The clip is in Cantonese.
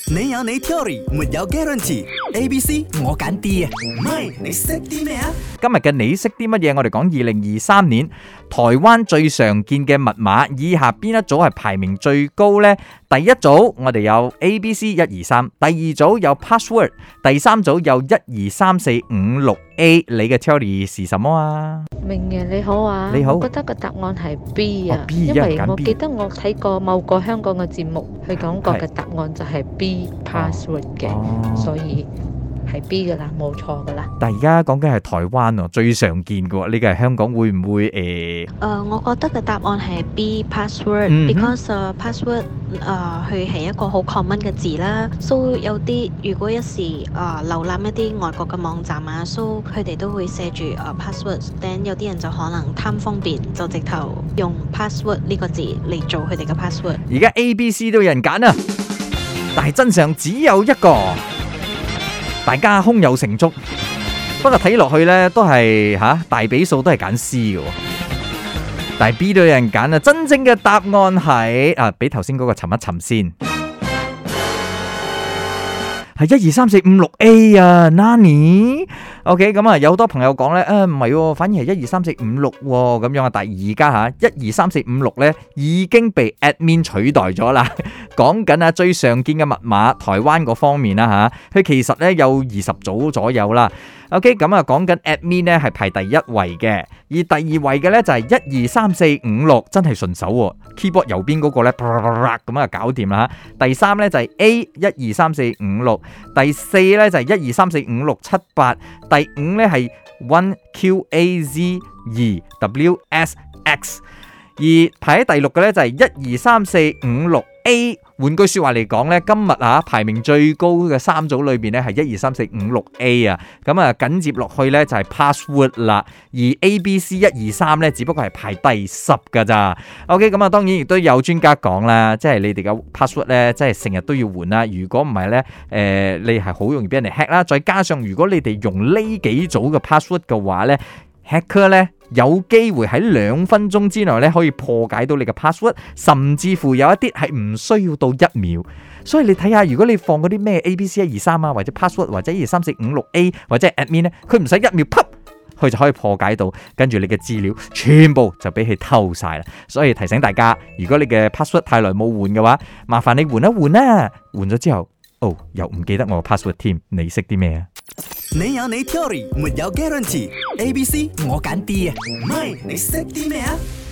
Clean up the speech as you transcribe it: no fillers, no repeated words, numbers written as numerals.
你有你 theory， 沒有 guarantee。A、B、C 我揀 D 啊，唔係你識啲咩啊？ 今日嘅你識啲乜嘢？我哋講2023年台灣最常見嘅密碼，以下邊一組係排名最高呢？第一組我哋有 A、B、C 123，第二組有 password， 第三組有1234566A。你嘅 theory 是什麼啊？ 明爺你好啊， 你好， 我覺得個答案係 B 啊， B， 因為我記得我睇過某個香港嘅節目，佢講過嘅答案就係 B password 嘅，所以係 B 噶啦，冇錯噶啦。 但而家講緊係台灣喎，最常見嘅喎，呢個係香港會唔會我覺得嘅答案係 B password，because password 佢係一個好 common 嘅字啦，so 有啲如果一時瀏覽一啲外國嘅網站啊，so 佢哋都會寫住password，then 有啲人就可能貪方便，就直頭用 password 呢個字嚟做佢哋嘅 password。 而家 A、B、C 都有人揀啊，但係真相只有一個。大家胸有成竹，不過睇落去呢都係大比數都係揀 C 嘅，但係 B 都有人揀啊！真正嘅答案係比頭先嗰個沉一沉先，係1234566A 啊 ，Nani？OK， 咁啊有好多朋友講呢，唔係，反而係1234566咁樣啊，但係而家1234566呢已經被 admin 取代咗啦。講緊最常見嘅密碼，台灣嗰方面啦佢其實咧有20組左右啦。OK， 咁啊講緊 admin 咧係排第一位嘅，而第二位嘅咧就係1234566，真係順手喎。keyboard 右邊嗰個咧咁啊搞掂啦。第三咧就係 A 1234566，第四咧就係123456788，第五咧係 1QAZ2WSX， 而排喺第六嘅咧就係1234566A。換句說話嚟講咧，今日排名最高嘅三組裏邊咧係1234566A啊，咁啊緊接落去咧就係 password 啦，而 A、B、C 123咧只不過係排第10噶咋。OK， 咁啊當然亦都有專家講啦，即係你哋嘅 password 咧，即係成日都要換啦。如果唔係咧，你係好容易俾人哋 hack 啦。再加上如果你哋用呢幾組嘅 password 嘅話咧，hacker 咧有機會喺2分鐘之內咧可以破解到你嘅 password， 甚至乎有一啲係唔需要到1秒。所以你睇下，如果你放嗰啲咩 ABC 123啊，或者 password 或者1234566A 或者 admin 咧，佢唔使1秒，佢就可以破解到，跟住你嘅資料全部就俾佢偷晒啦。所以提醒大家，如果你嘅 password 太耐冇換嘅話，麻煩你換一換啦。換咗之後，又唔記得我嘅 password 添，你識啲咩啊？ 你有你 theory， 沒有 guarantee。A、B、C 我揀 D 啊，唔係你識啲咩啊？